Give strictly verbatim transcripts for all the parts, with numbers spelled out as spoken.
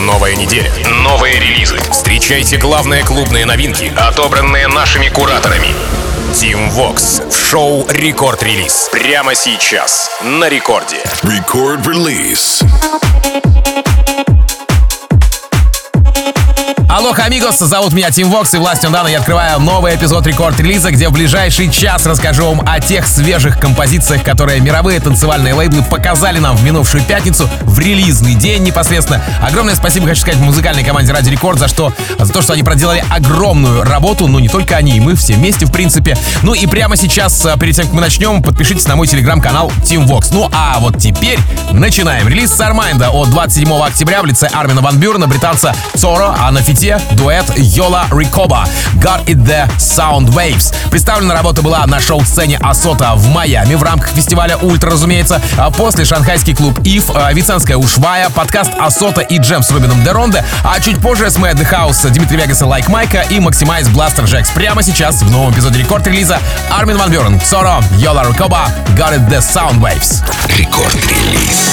Новая неделя, новые релизы. Встречайте главные клубные новинки, отобранные нашими кураторами. Team Vox в шоу «Рекорд Релиз». Прямо сейчас на рекорде. Record Release. Алоха, амигос, зовут меня Team Vox, и властью Дана я открываю новый эпизод рекорд-релиза, где в ближайший час расскажу вам о тех свежих композициях, которые мировые танцевальные лейблы показали нам в минувшую пятницу, в релизный день непосредственно. Огромное спасибо хочу сказать музыкальной команде Ради Рекорд за, что, за то, что они проделали огромную работу, но не только они, и мы все вместе, в принципе. Ну и прямо сейчас, перед тем, как мы начнем, подпишитесь на мой телеграм-канал Team Vox. Ну а вот теперь начинаем. Релиз Сармайнда от двадцать седьмого октября в лице Армина Ван Бюрена, британца Цоро, а на фите дуэт Йола Рикоба «Got It The Sound Waves». Представлена работа была на шоу-сцене Асота в Майами в рамках фестиваля Ультра, разумеется. А после шанхайский клуб Ив, Виценская Ушвая, подкаст Асота и Джем с Рубином Деронде, а чуть позже эс эм эй The House, Дмитрий Вегас и Лайк Майка и Maximize Blaster Jacks. Прямо сейчас в новом эпизоде рекорд-релиза Армин Ван Бюрен, Цоро, Йола Рикоба «Got It The Sound Waves». Рекорд-релиз.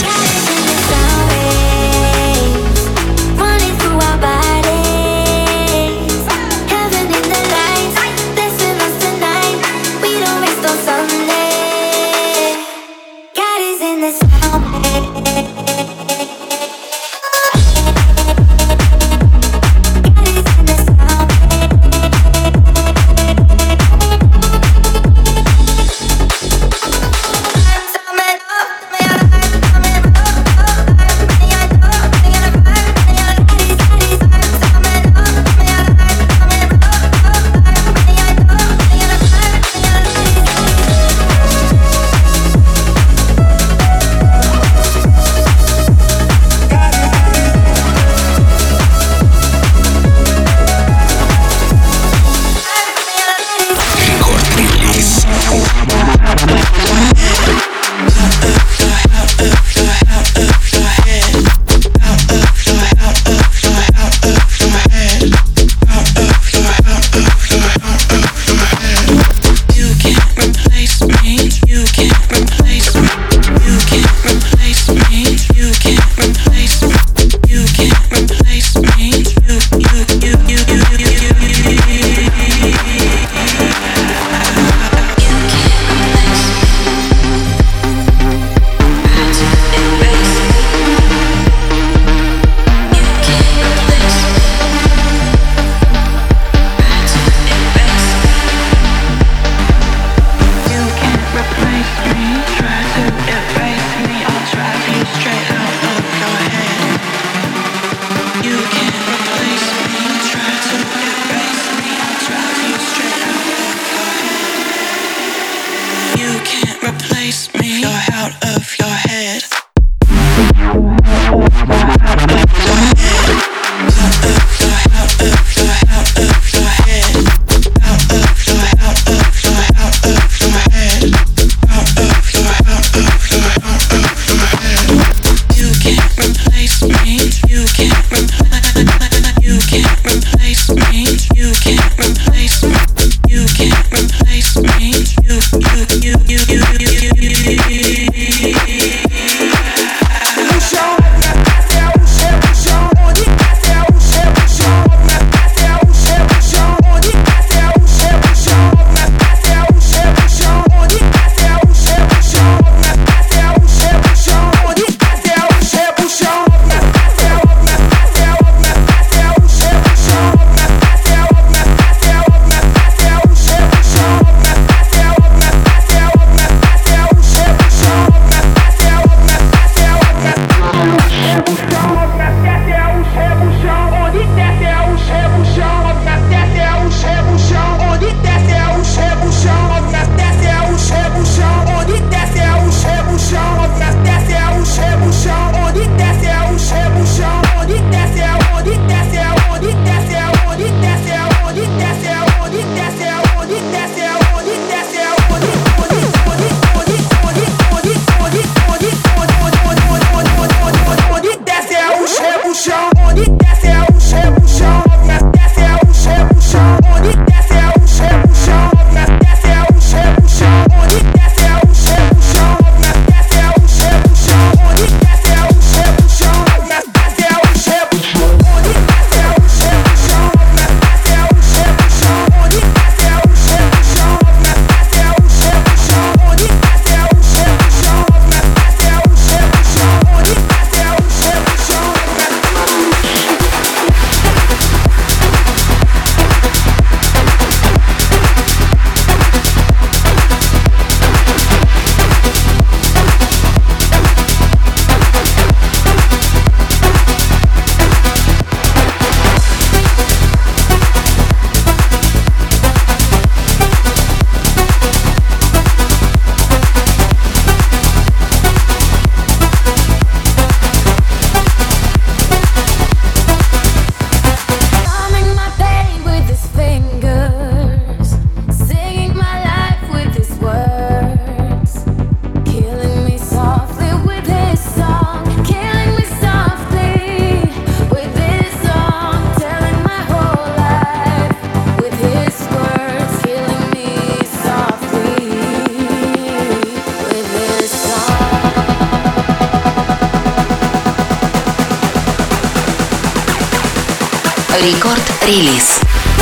Рекорд-релиз.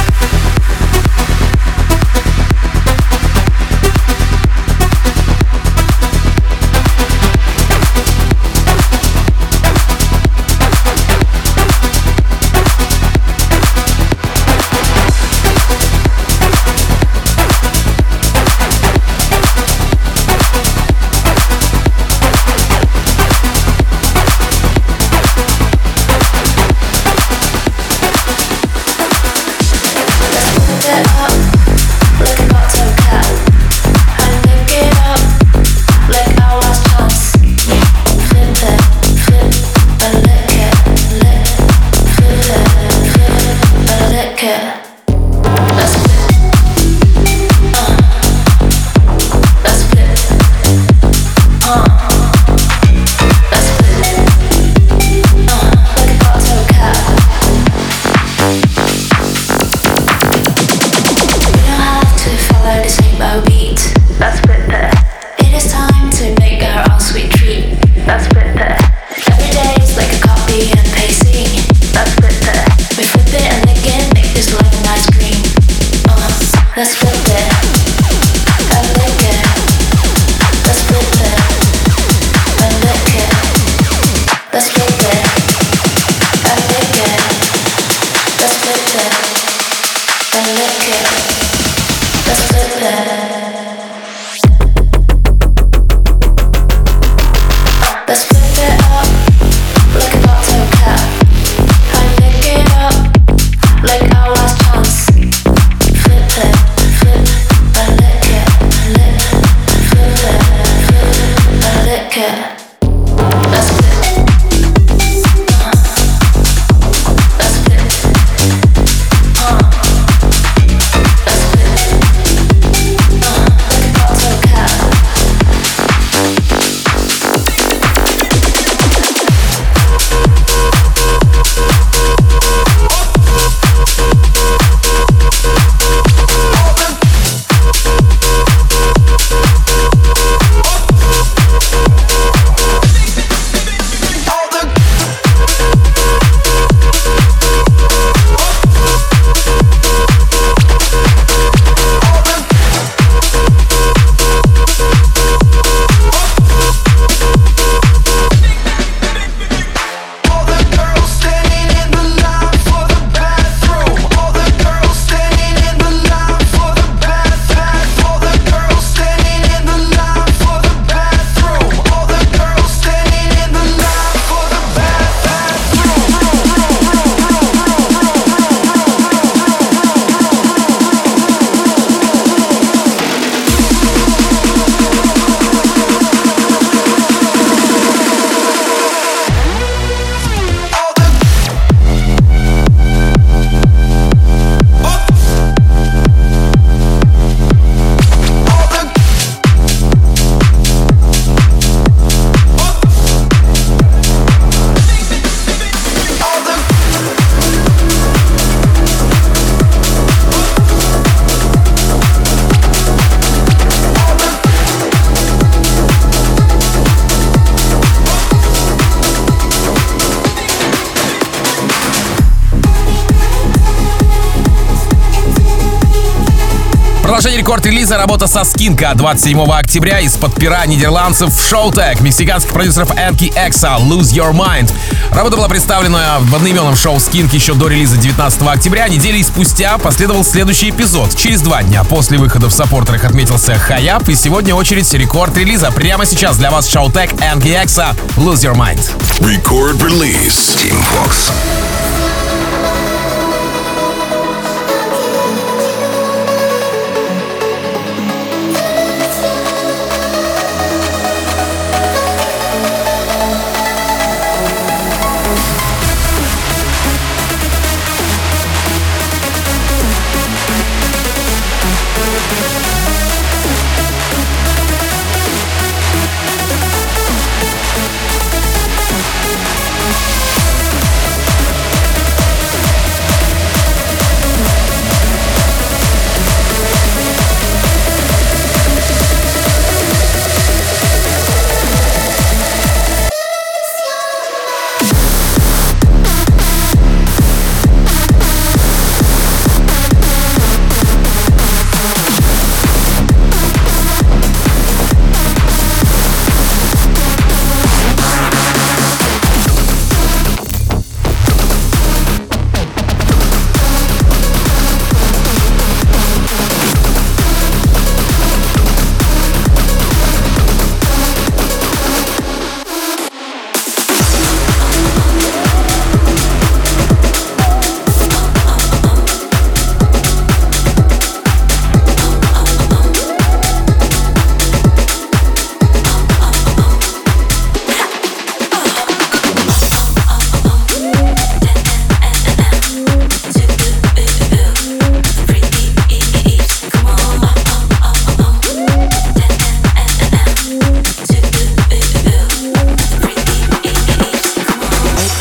Продолжение рекорд-релиза, работа со Скинка двадцать седьмого октября из-под пера нидерландцев Showtek, мексиканских продюсеров Энки Экса, Lose Your Mind. Работа была представлена в одноименном шоу Skink еще до релиза девятнадцатого октября. Недели спустя последовал следующий эпизод. Через два дня после выхода в саппортерах отметился Хаяп, и сегодня очередь рекорд-релиза. Прямо сейчас для вас Showtek, Энки Экса, Lose Your Mind. Record-release. Team Vox.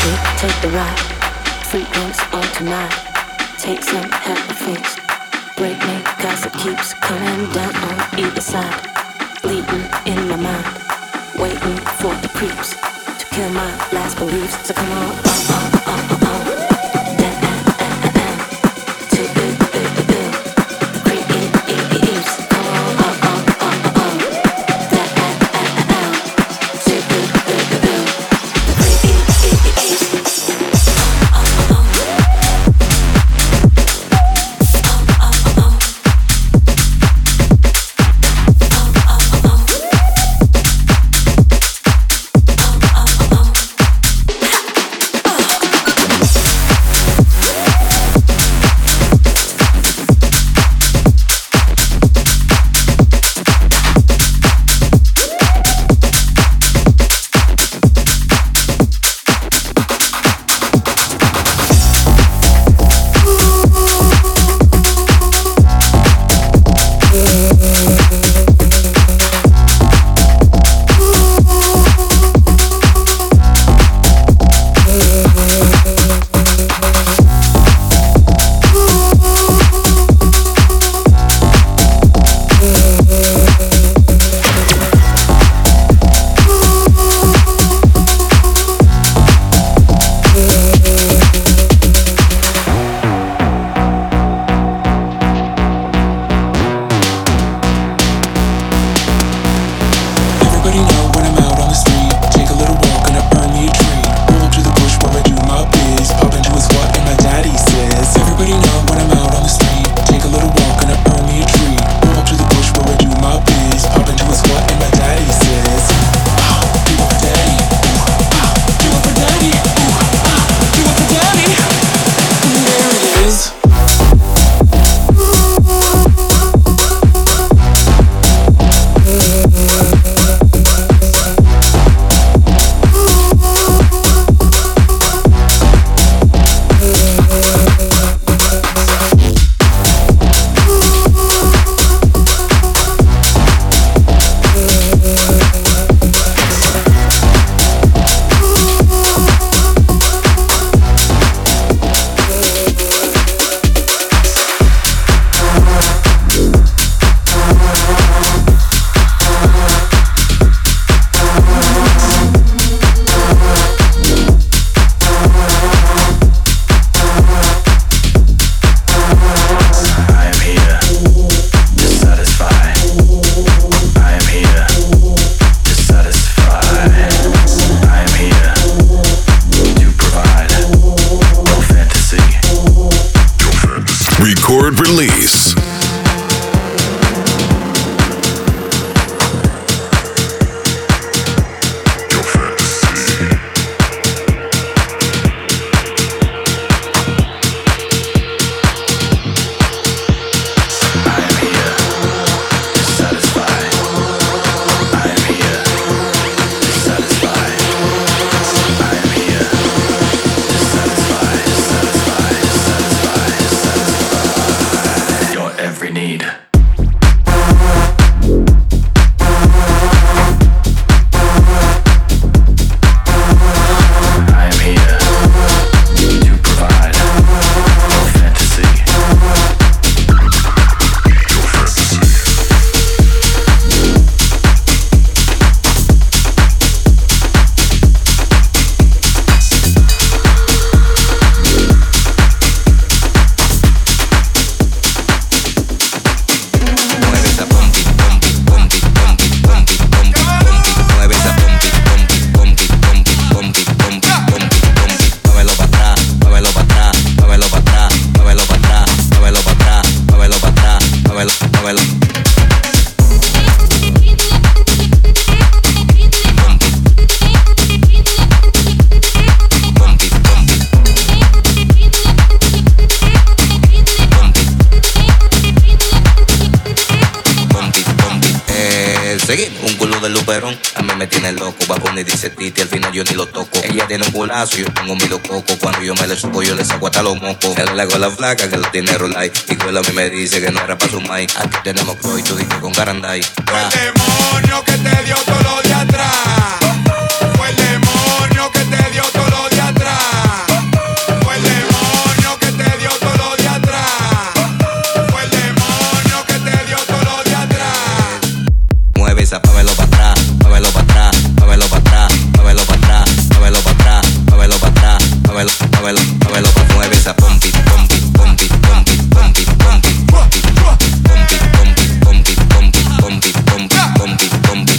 Take the ride, free drinks on tonight. Take some, have a feast. Break me, gossip keeps coming down on either side. Bleeding in my mind, waiting for the creeps to kill my last beliefs. So come on, oh, oh, oh, oh, oh. Record release. Seguimos un culo de luperón, a mí me tiene loco. Va a poner dice Titi, al final yo ni lo toco. Ella tiene un culazo, yo tengo mi coco. Cuando yo me le subo, yo le saco hasta los mocos. Él le hago la flaca que lo tiene rolay. Y cuela a mí me dice que no era pa' su mai. Aquí tenemos Croy, tú dijiste con Caranday. Fue el demonio que te dio todo lo de atrás. Fue el demonio que te dio todo lo de atrás. muévelo, muévelo pa' mueve esa pompi, pompi, pompi, pompi, pompi, pompi, pompi, pompi, pompi, pompi, pompi, pompi, pompi, pompi, pompi.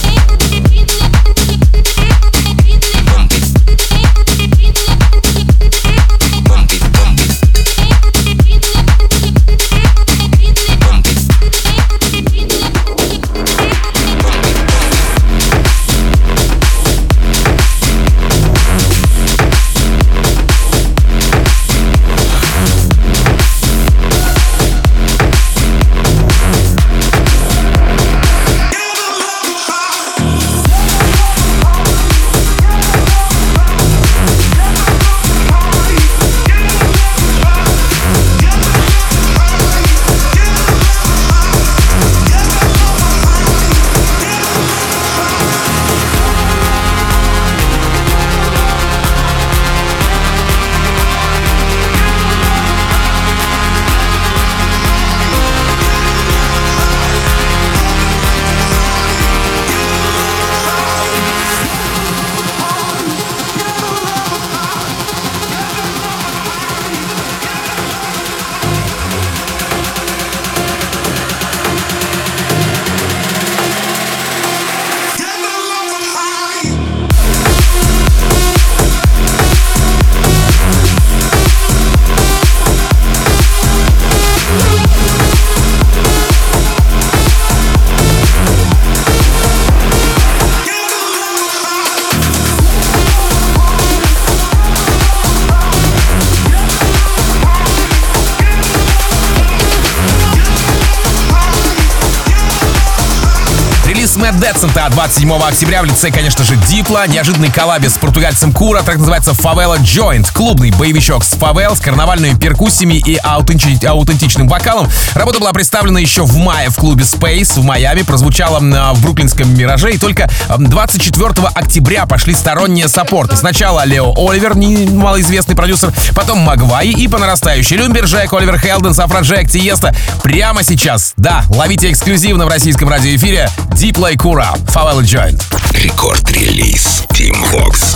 Мэтт Децента двадцать седьмого октября в лице, конечно же, Дипла. Неожиданный коллабе с португальцем Кура, так называется Favela Joint. Клубный боевичок с фавел, с карнавальными перкуссиями и аутенти- аутентичным вокалом. Работа была представлена еще в мае в клубе Space в Майами, прозвучала в бруклинском Мираже, и только двадцать четвёртого октября пошли сторонние саппорты. Сначала Лео Оливер, малоизвестный продюсер, потом Магвай и по нарастающей Люмберджек, Оливер Хелденс, Афроджек, Тиеста. Прямо сейчас, да, ловите эксклюзивно в российском радиоэфире Дипла и Кура, Favela Joint. Рекорд-релиз Team Vox.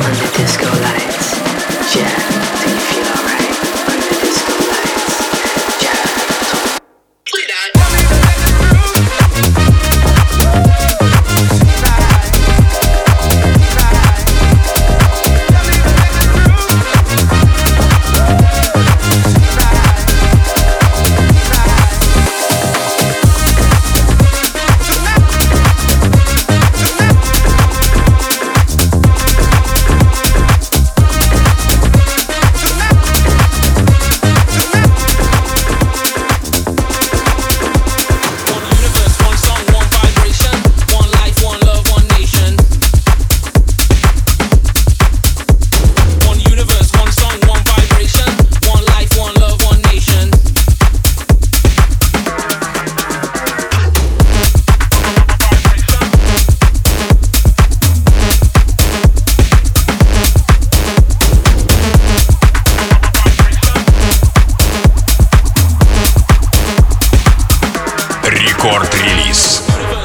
Рекорд-релиз.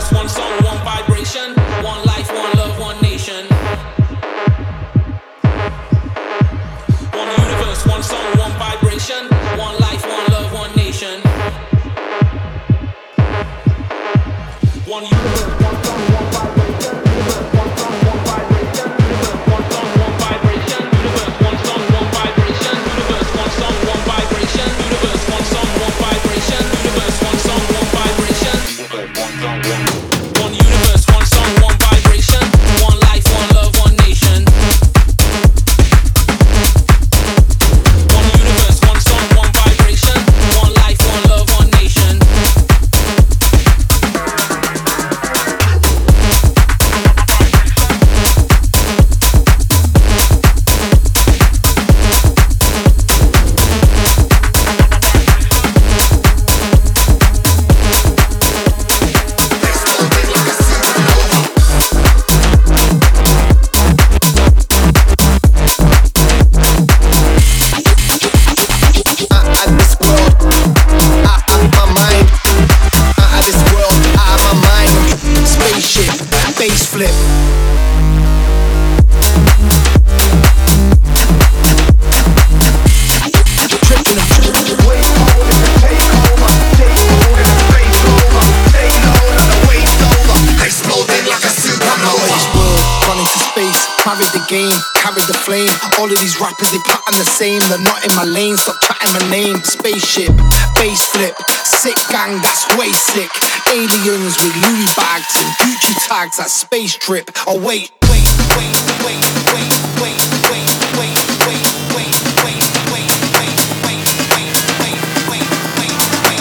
All of these rappers, they pattern the same. They're not in my lane, stop chatting my name. Spaceship, bass flip, sick gang, that's way sick. Aliens with Louis bags and Gucci tags, that's space trip. Oh wait, wait, wait, wait, wait, wait, wait, wait, wait, wait, wait, wait, wait, wait, wait, wait, wait, wait,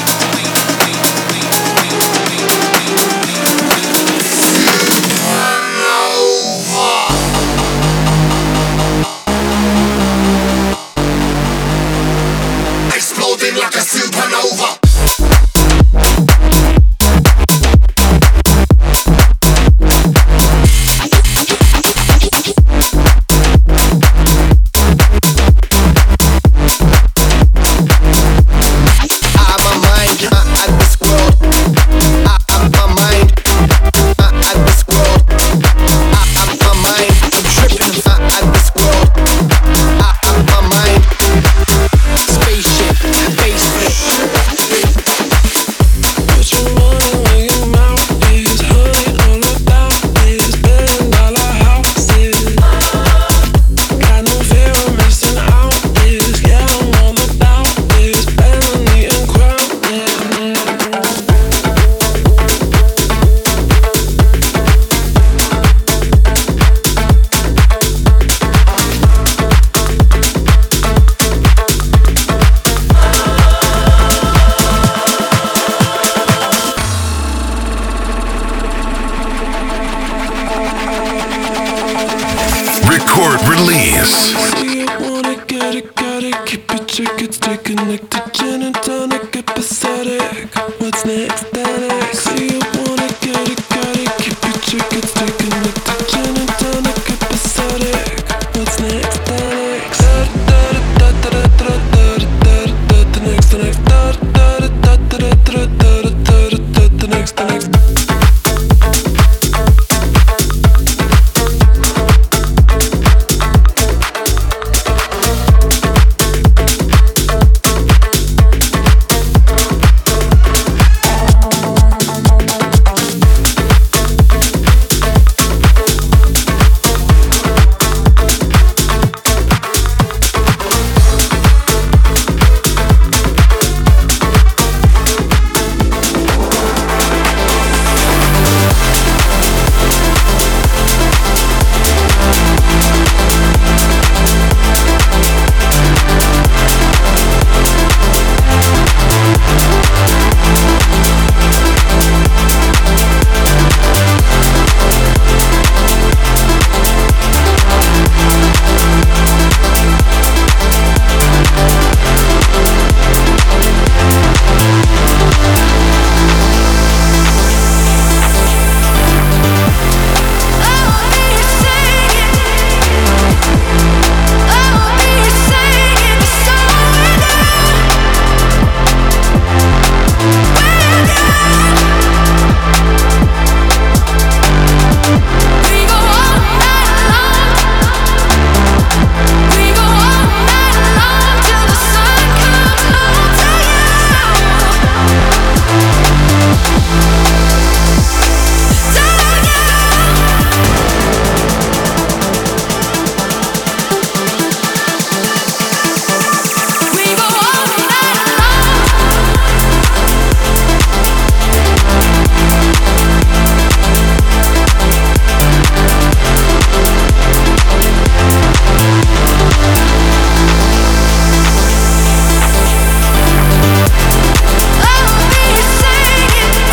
like a supernova.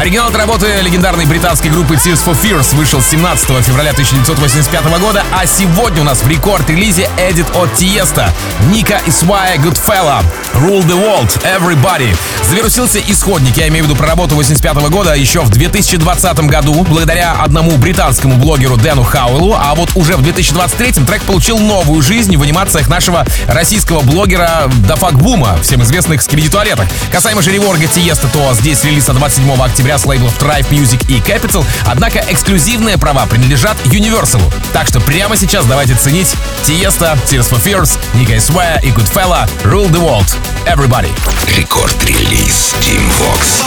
Оригинал этой работы легендарной британской группы Tears for Fears вышел семнадцатого февраля тысяча девятьсот восемьдесят пятого года, а сегодня у нас в рекорд-релизе эдит от Тиеста, Ника и Свая, Goodfella, Rule the World, Everybody. Завирусился исходник, я имею в виду про работу восемьдесят пятого года, еще в две тысячи двадцатом году, благодаря одному британскому блогеру Дэну Хауэллу, а вот уже в две тысячи двадцать третьем трек получил новую жизнь в анимациях нашего российского блогера Дафак Бума, всем известных Скибиди Туалетах. Касаемо же реворга Тиеста, то здесь релиз от двадцать седьмого октября с лейблов Tribe Music и Capital, однако эксклюзивные права принадлежат Universal. Так что прямо сейчас давайте ценить Тиеста, Tears for Fears, Ника и Swaya и Goodfella, Rule the World, Everybody. Рекорд-релиз Team Vox.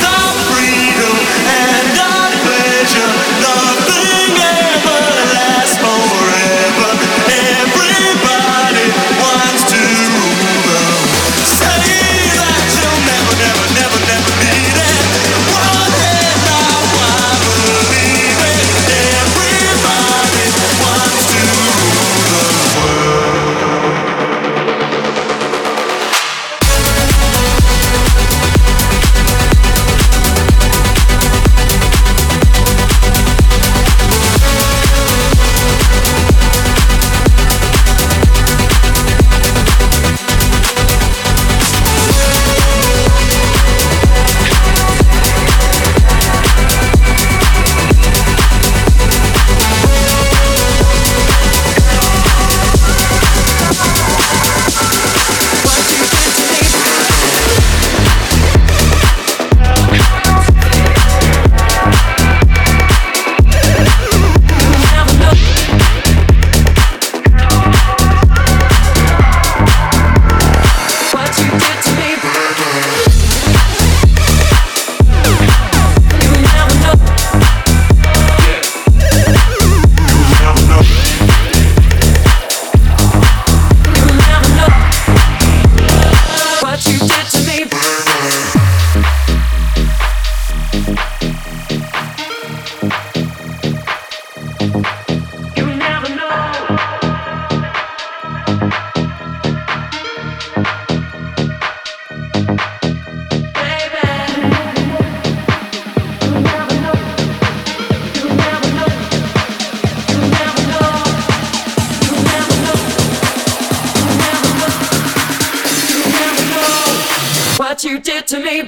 What you did to me.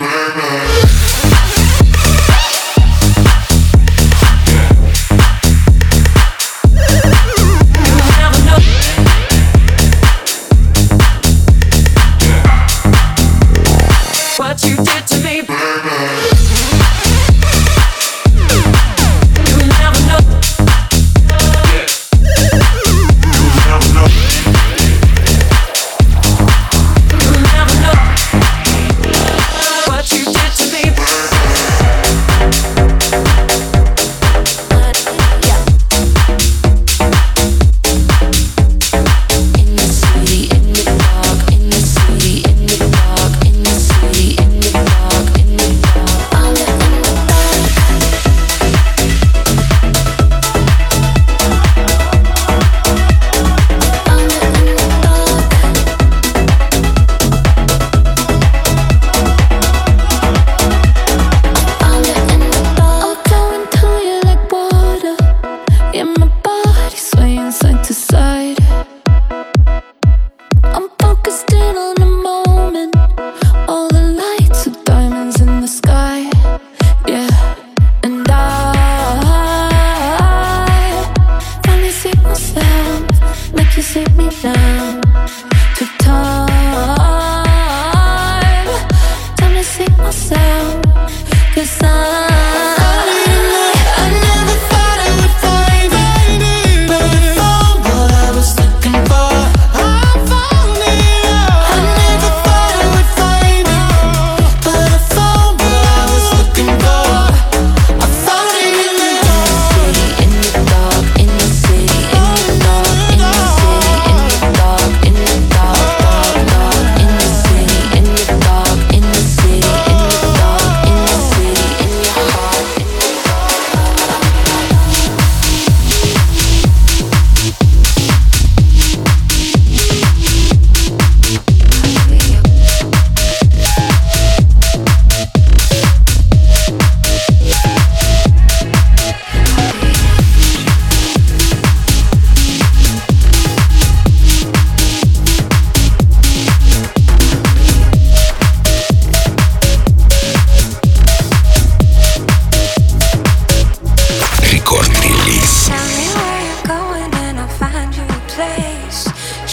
In the dark,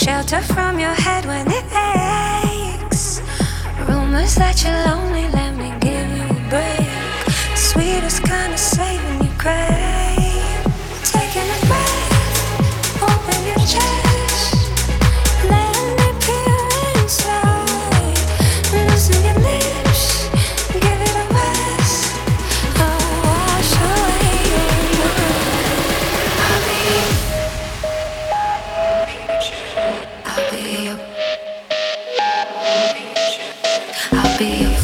shelter from your head when it aches. Rumors that you're lonely, let me give you a break. Sweetest kind of saving you crave. Taking a breath, open your chest. Let me peer inside. Loosen your lips, give it a rest. Oh, wash away your mind. I'll be you. I'll be you. I'll be you.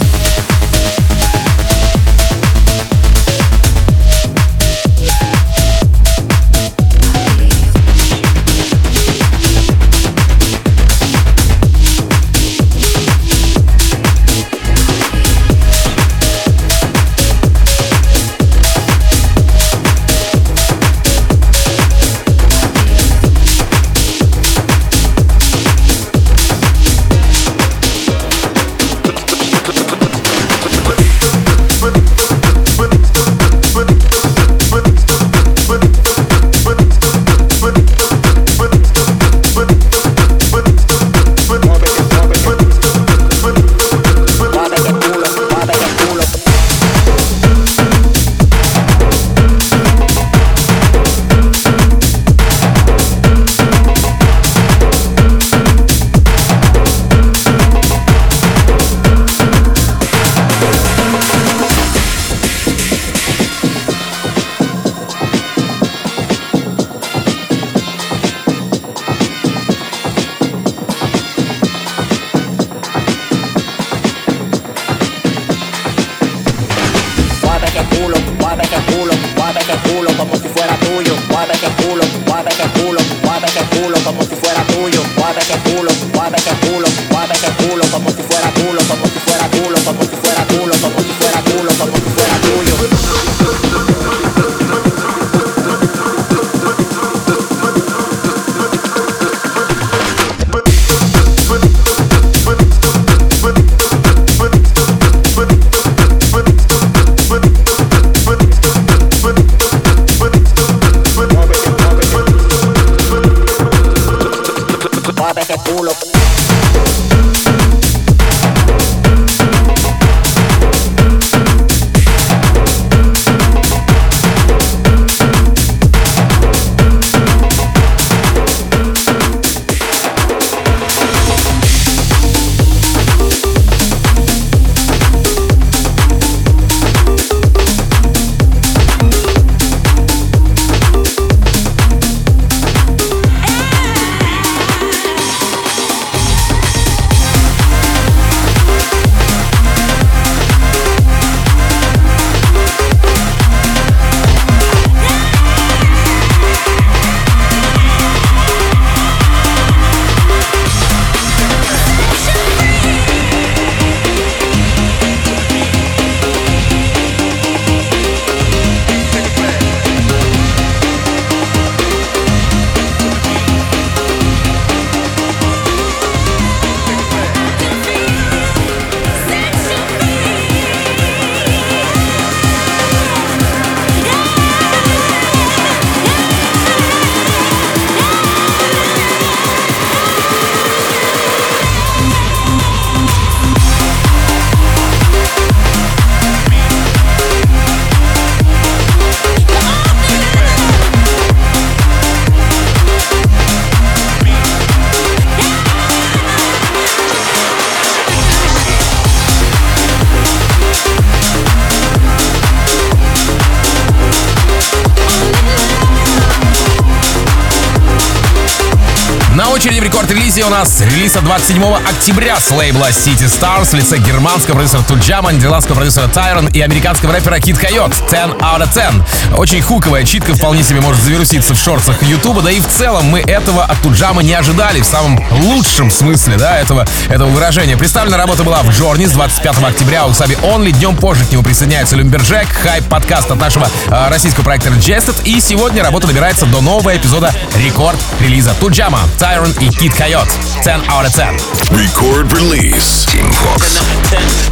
На очереди в рекорд-релизе у нас релиз от двадцать седьмого октября с лейбла City Stars в лице германского продюсера Tujama, нидерландского продюсера Tyron и американского рэпера Kid Coyote ten out of ten. Очень хуковая читка вполне себе может завируситься в шортсах Ютуба, да и в целом мы этого от Tujama не ожидали в самом лучшем смысле, да, этого, этого выражения. Представлена работа была в Journey с двадцать пятого октября у Саби Only. Днем позже к нему присоединяется Lumberjack, хайп-подкаст от нашего э, российского проекта Jested. И сегодня работа добирается до нового эпизода рекорд-релиза Tujama, Tyron и Kid Coyote ten out of ten. Record release. Team Vox.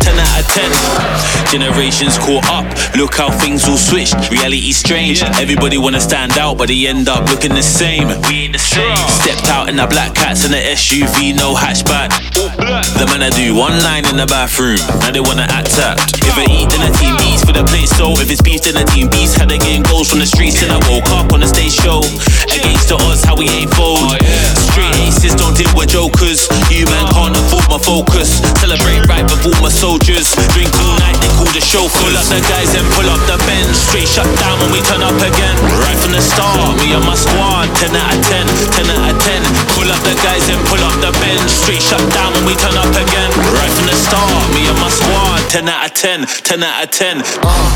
ten out of ten. Generations caught up, look how things all switched. Reality's strange, everybody wanna stand out, but they end up looking the same. We ain't the same. Stepped out in the black cats and the S U V, no hatchback. The man I do one line in the bathroom, now they wanna act tapped. If I eat, then the team eats for the plate, so if it's beef, then the team beats. Had they getting goals from the streets, and I woke up on the stage show. Against the odds, how we ain't fold. Straight aces don't deal with jokers. You man can't afford my focus. Celebrate right before my soldiers. Drink all night, they call the show. Pull up the guys and pull up the bench. Straight shut down when we turn up again. Right from the start, me and my squad. ten out of ten, ten out of ten. Pull up the guys and pull up the bench. Straight shut down when we turn up again. Right from the start, me and my squad. ten out of ten, ten out of ten. Uh.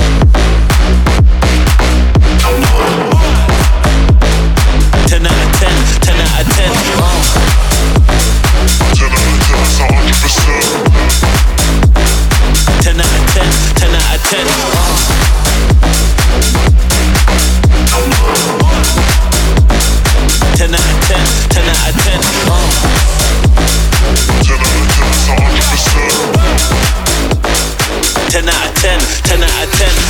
ten out of ten, ten out of ten. Uh. ten out of ten, that's one hundred percent. ten out of ten, ten out of ten. Uh. ten out of ten, ten out of ten. Uh. ten out of ten, that's one hundred percent. ten out of ten, ten out of ten.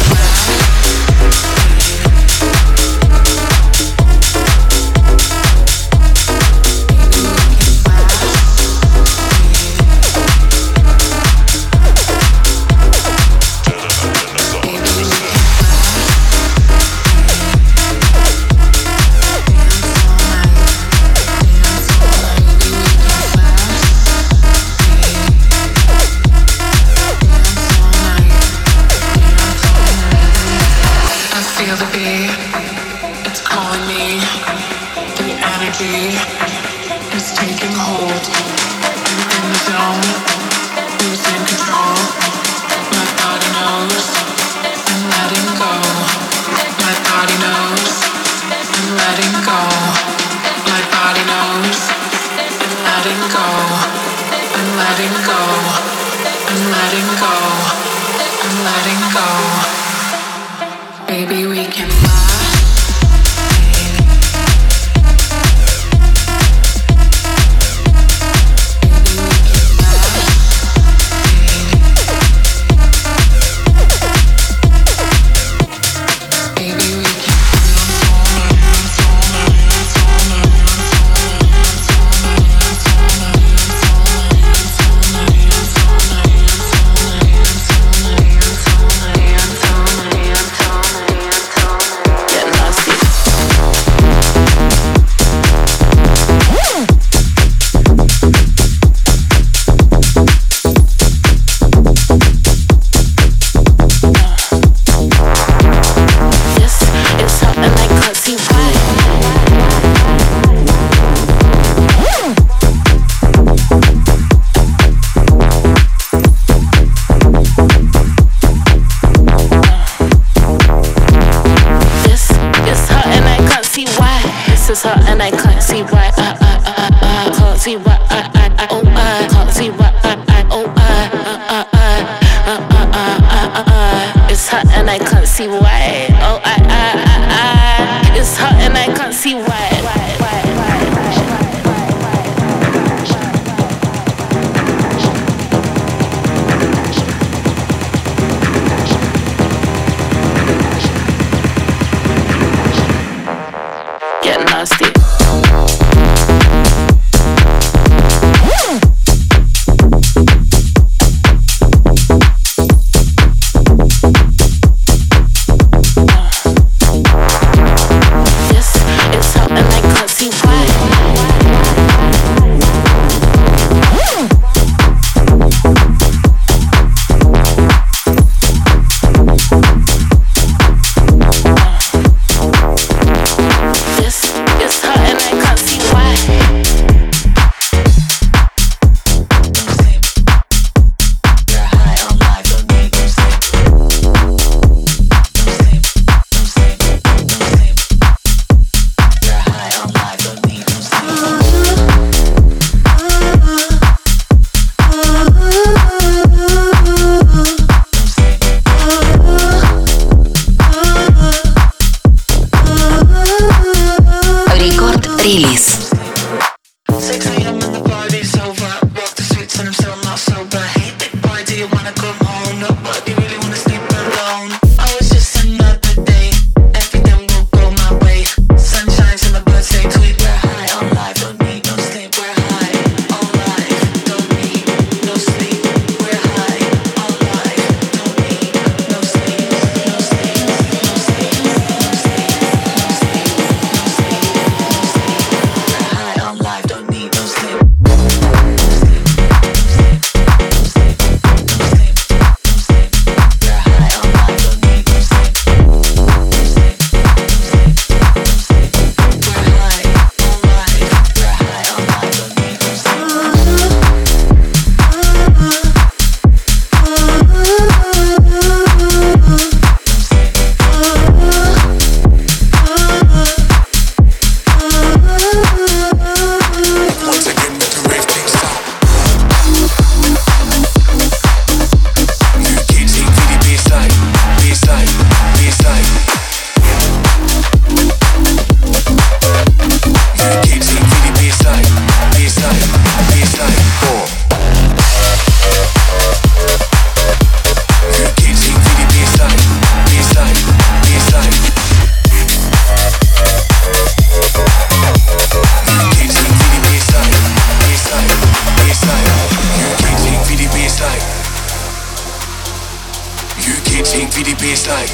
baseline.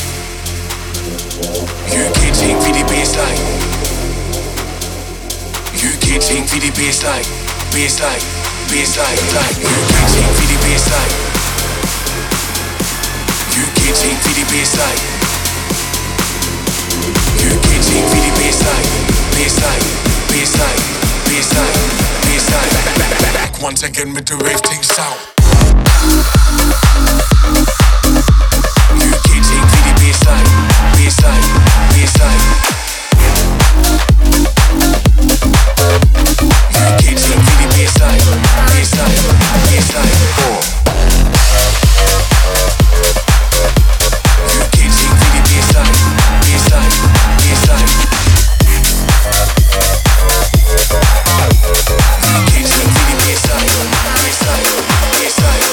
U K ting for the baseline. U K ting for the baseline. Baseline, baseline, like U K ting for the baseline. U K ting for the baseline. U K ting for the baseline. Baseline, baseline, baseline, baseline. Back, back, back, back once again with the rave ting sound. U K ting for the baseline. Baseline, baseline. U K ting for the baseline. Baseline, baseline. U K ting for the baseline. Baseline, baseline. U K ting for the baseline. Baseline, baseline.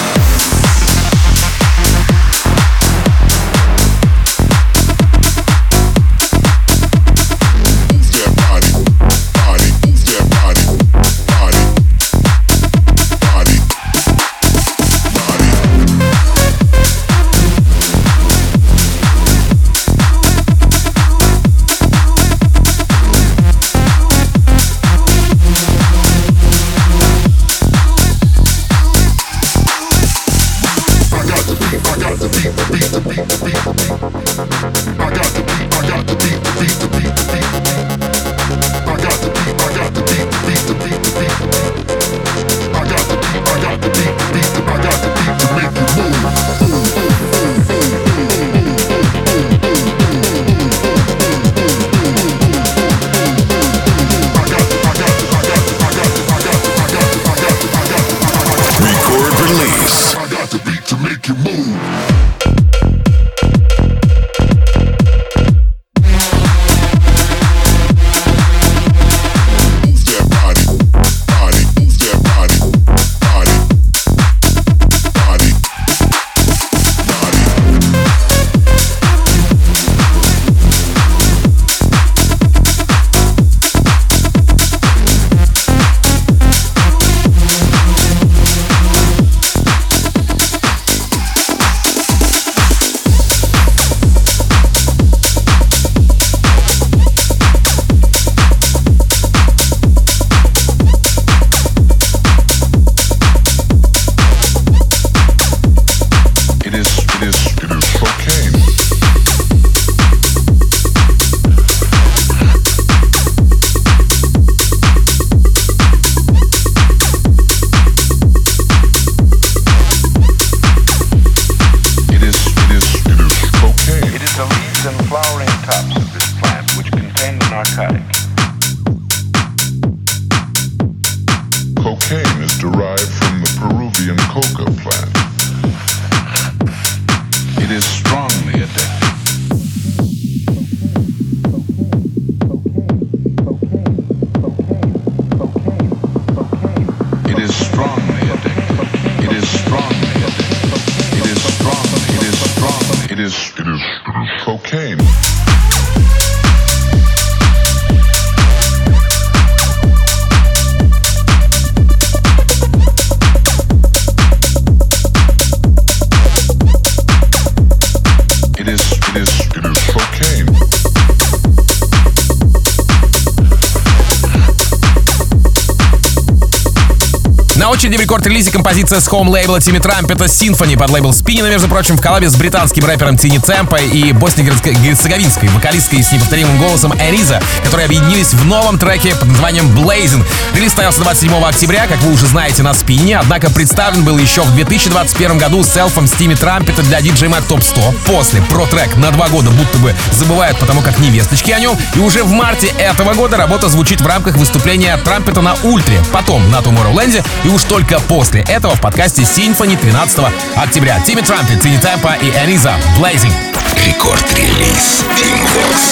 На очереди в рекорд-релизе композиция с хоум-лейбла Тимми Трампета Symphony под лейбл Spinina, между прочим, в коллабе с британским рэпером Тини Темпо и босно-герцеговинской вокалисткой с неповторимым голосом Эниза, которые объединились в новом треке под названием Blazing. Релиз состоялся двадцать седьмого октября, как вы уже знаете, на Spinina, однако представлен был еще в две тысячи двадцать первом году селфом с Тимми Трампета для ди джей Mag Top сто. После про трек на два года будто бы забывают, потому как невесточки о нем. И уже в марте этого года работа звучит в рамках выступления Трампета на Ультре, потом на Tomorrowland, и уж только после этого в подкасте Symphony тринадцатого октября. Тимми Трампет, Тини Темпо и Эниза Blazing. Рекорд-релиз Team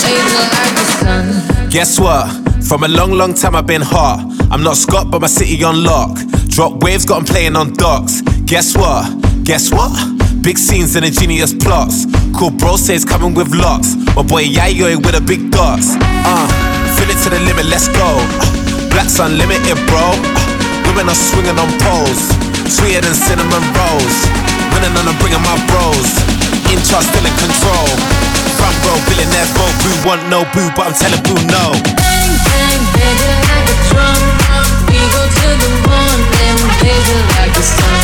Vox. Guess what? From a long, long time I've been hot. I'm not Scott, but my city on lock. Drop waves, got 'em playing on docks. Guess what? Guess what? Big scenes and ingenious plots. Cool bro says coming with locks. My boy Yayo with the big dots. Uh, fill it to the limit, let's go. Uh, Black's unlimited, bro. Uh, women are swinging on poles. Sweeter than cinnamon rolls. Winning and I'm bringing my bros. in charge, still in control. Front row, billionaires vote. Boo want no boo, but I'm telling boo no. Bang, bang, baby, like a drum. We go to the morning, baby, like the sun.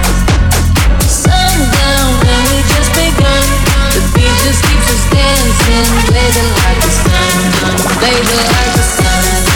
Sundown, and we just begun. The beat just keeps us dancing, blazing like the sun, blazing like the sun.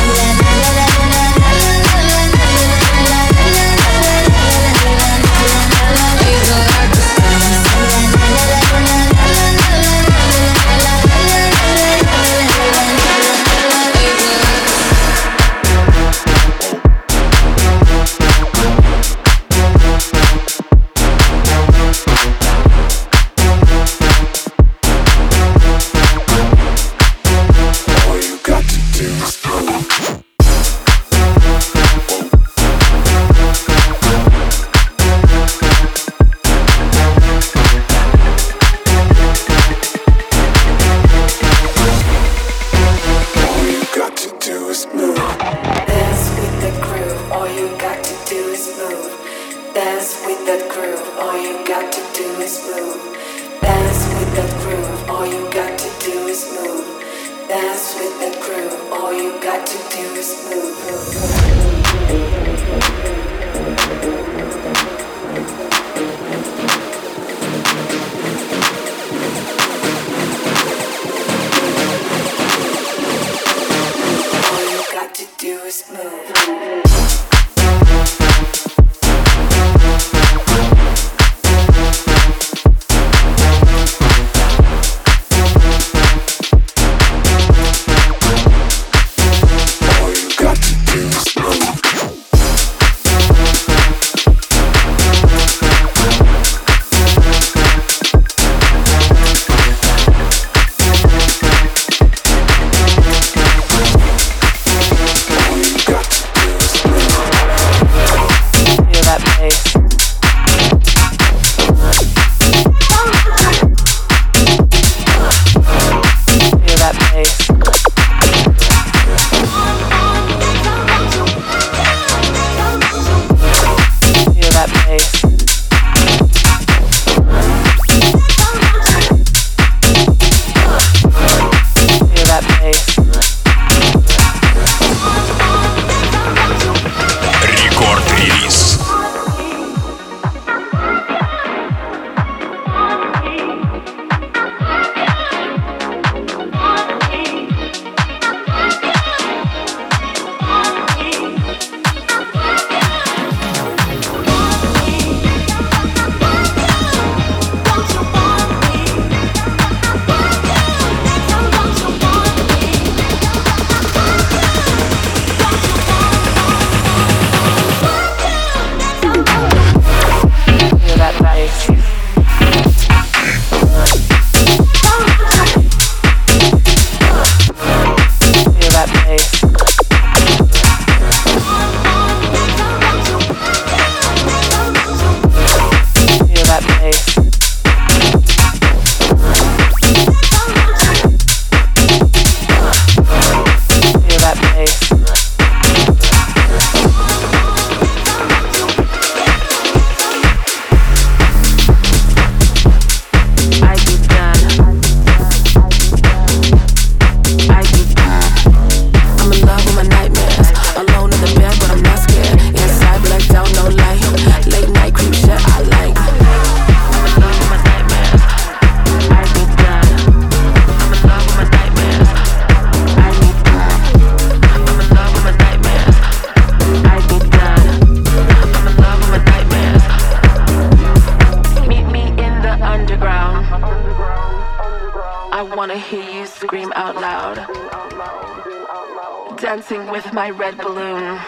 Dancing with my red balloon.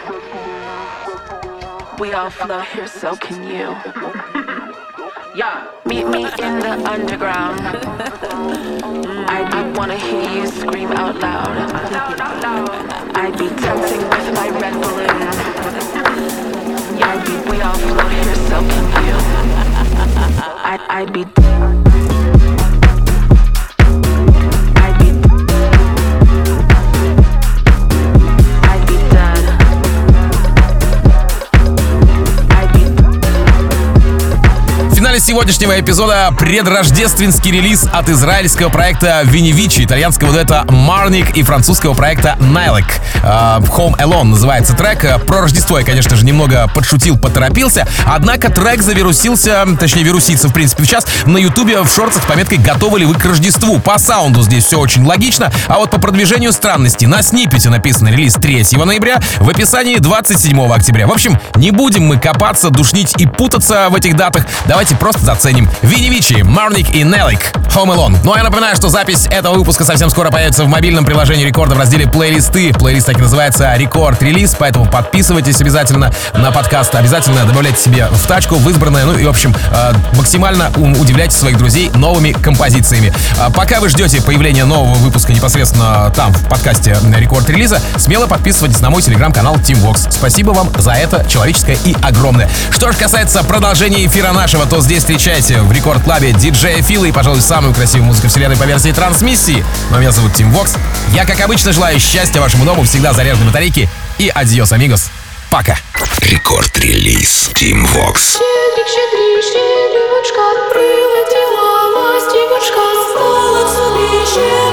We all flow here, so can you. Yeah. Meet me in the underground. I, I wanna hear you scream out loud. I'd be dancing with my red balloon. I'd be, we all flow here, so can you. I'd, I'd be. финале сегодняшнего эпизода предрождественский релиз от израильского проекта Винивичи, итальянского дуэта Marnik и французского проекта Nylek. Home Alone называется трек. Про Рождество я, конечно же, немного подшутил, поторопился. Однако трек завирусился, точнее вирусится, в принципе, сейчас на ютубе в шортах с пометкой «Готовы ли вы к Рождеству?». По саунду здесь все очень логично, а вот по продвижению странности. На сниппете написано релиз третьего ноября, в описании двадцать седьмого октября. В общем, не будем мы копаться, душнить и путаться в этих датах. Давайте просто заценим. Винивичи, Marnik и Nylek, Home Alone. Ну а я напоминаю, что запись этого выпуска совсем скоро появится в мобильном приложении Рекорда в разделе «Плейлисты». Плейлист так и называется «Рекорд Релиз», поэтому подписывайтесь обязательно на подкаст, обязательно добавляйте себе в тачку в избранное, ну и, в общем, э, максимально удивляйте своих друзей новыми композициями. А пока вы ждете появления нового выпуска непосредственно там, в подкасте Рекорд Релиза, смело подписывайтесь на мой телеграм-канал Team Vox. Спасибо вам за это человеческое и огромное. Что же касается продолжения эфира нашего, то здесь встречайте в Рекорд Клабе диджея Фила и, пожалуй, самую красивую музыку вселенной по версии трансмиссии. Но меня зовут Team Vox. Я, как обычно, желаю счастья вашему дому, всегда заряженной батарейки. И адьос, амигос. Пока. Рекорд-релиз Team Vox. Щедрик, щедрик, щедрючка, прилетіла ластівочка, стала собі щедрик.